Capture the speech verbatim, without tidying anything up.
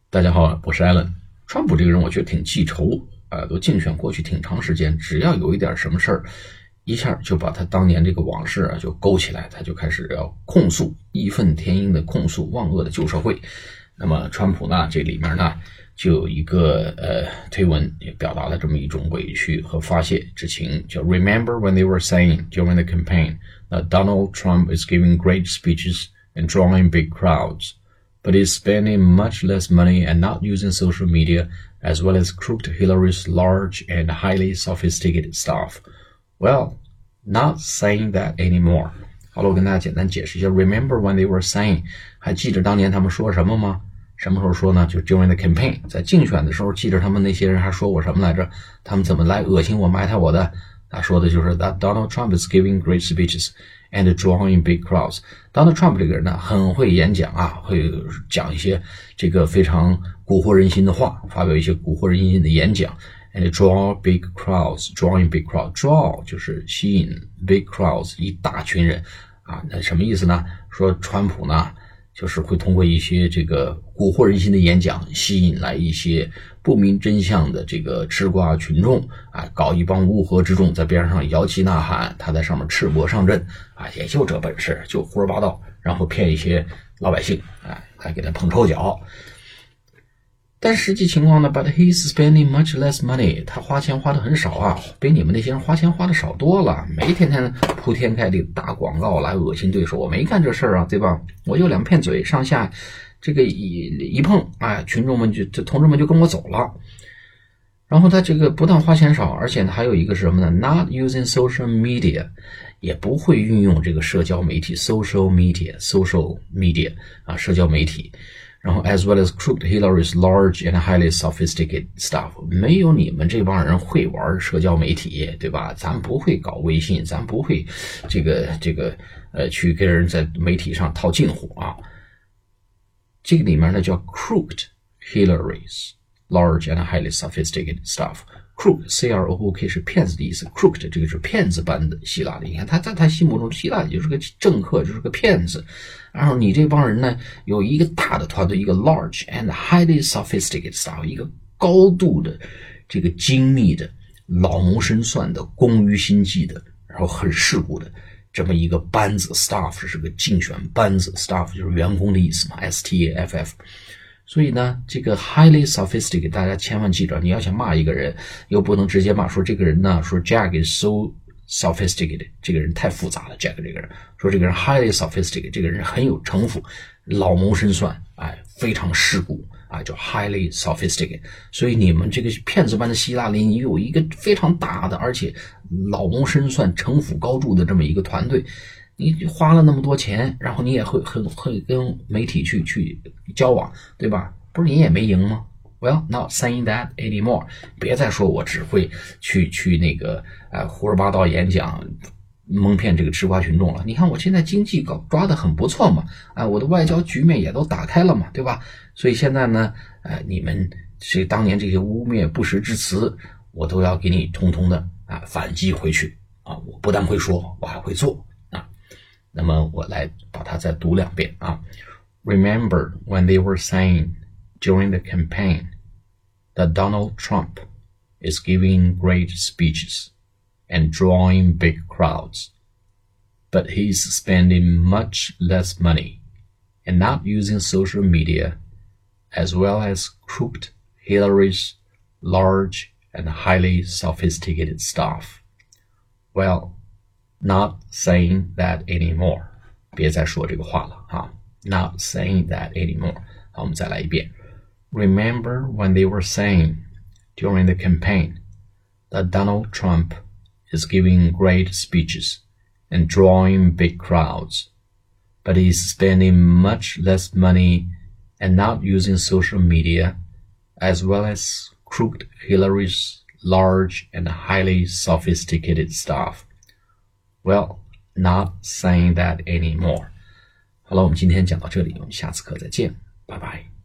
大家好，我是 Alan。川普这个人我觉得挺记仇啊、呃，都竞选过去挺长时间，只要有一点什么事儿，一下就把他当年这个往事啊就勾起来，他就开始要控诉，义愤填膺的控诉万恶的旧社会。那么川普呢，这里面呢就有一个呃推文也表达了这么一种委屈和发泄之情，叫 Remember when they were saying during the campaign that Donald Trump is giving great speeches and drawing big crowds.But is spending much less money and not using social media, as well as crooked Hillary's large and highly sophisticated staff. Well, not saying that anymore. 好了，我跟大家简单解释一下 Remember when they were saying 还记着当年他们说什么吗？什么时候说呢？就 during the campaign 在竞选的时候，记着他们那些人还说我什么来着？他们怎么来恶心我埋汰我的？他说的就是 that Donald Trump is giving great speeches.And drawing big crowds. Donald Trump 这个人呢，很会演讲啊，会讲一些这个非常蛊惑人心的话，发表一些蛊惑人心的演讲。And draw big crowds, drawing big crowds. Draw 就是吸引 big crowds 一大群人啊，那什么意思呢？说川普呢，就是会通过一些这个蛊惑人心的演讲，吸引来一些不明真相的这个吃瓜群众啊，搞一帮乌合之众在边上摇旗呐喊，他在上面赤膊上阵啊，也就这本事，就胡说八道，然后骗一些老百姓啊，还给他捧臭脚。但实际情况呢 ，But he's spending much less money， 他花钱花的很少啊，比你们那些人花钱花的少多了，没天天铺天盖地打广告来恶心对手，我没干这事儿啊，对吧？我就两片嘴上下。这个一一碰，哎，群众们就这同志们就跟我走了。然后他这个不但花钱少，而且还有一个是什么呢 ？Not using social media， 也不会运用这个社交媒体 （social media），social media 啊，社交媒体。然后 as well as crooked Hillary's large and highly sophisticated staff， 没有你们这帮人会玩社交媒体，对吧？咱不会搞微信，咱不会这个这个呃去跟人在媒体上套近乎啊。这个里面呢叫 crooked Hillary's large and highly sophisticated staff。crook C R O O K 是骗子的意思 ，crooked 这个是骗子般的希拉里。你看他在他心目中，希拉里就是个政客，就是个骗子。然后你这帮人呢，有一个大的团队，一个 large and highly sophisticated staff， 一个高度的这个精密的、老谋深算的、工于心计的，然后很世故的。这么一个班子 staff 是个竞选班子 staff 就是员工的意思嘛 S T A F F。 所以呢这个 highly sophisticated 大家千万记着，你要想骂一个人又不能直接骂说这个人呢，说 Jack is so sophisticated 这个人太复杂了 Jack 这个人，说这个人 highly sophisticated 这个人很有城府，老谋深算，哎，非常世故啊，叫 highly sophisticated。 所以你们这个骗子般的希拉里，你有一个非常大的而且老谋深算、城府高筑的这么一个团队，你花了那么多钱，然后你也会很会跟媒体去去交往，对吧？不是你也没赢吗？ Well, not saying that anymore。 别再说我只会去去那个呃胡说八道演讲蒙骗这个吃瓜群众了。你看我现在经济搞抓得很不错嘛，啊、呃，我的外交局面也都打开了嘛，对吧？所以现在呢，呃，你们这当年这些污蔑不实之词，我都要给你通通的啊反击回去啊！我不但会说，我还会做啊。那么我来把它再读两遍啊。Remember when they were saying during the campaign that Donald Trump is giving great speeches and drawing big crowds, but he's spending much less money and not using social media, as well as crooked Hillary's large and highly sophisticated staff. Well, not saying that anymore. 别再说这个话了啊 Not saying that anymore. 好，我们再来一遍。Remember when they were saying during the campaign that Donald Trump is giving great speeches and drawing big crowds, but he's spending much less money and not using social media, as well as crooked Hillary's large and highly sophisticated staff. Well, not saying that anymore. 好了，我们今天讲到这里，我们下次课再见，拜拜。